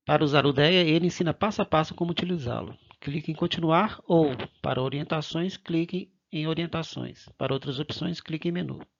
Para usar o DEA, ele ensina passo a passo como utilizá-lo. Clique em continuar ou, para orientações, clique em orientações. Para outras opções, clique em menu.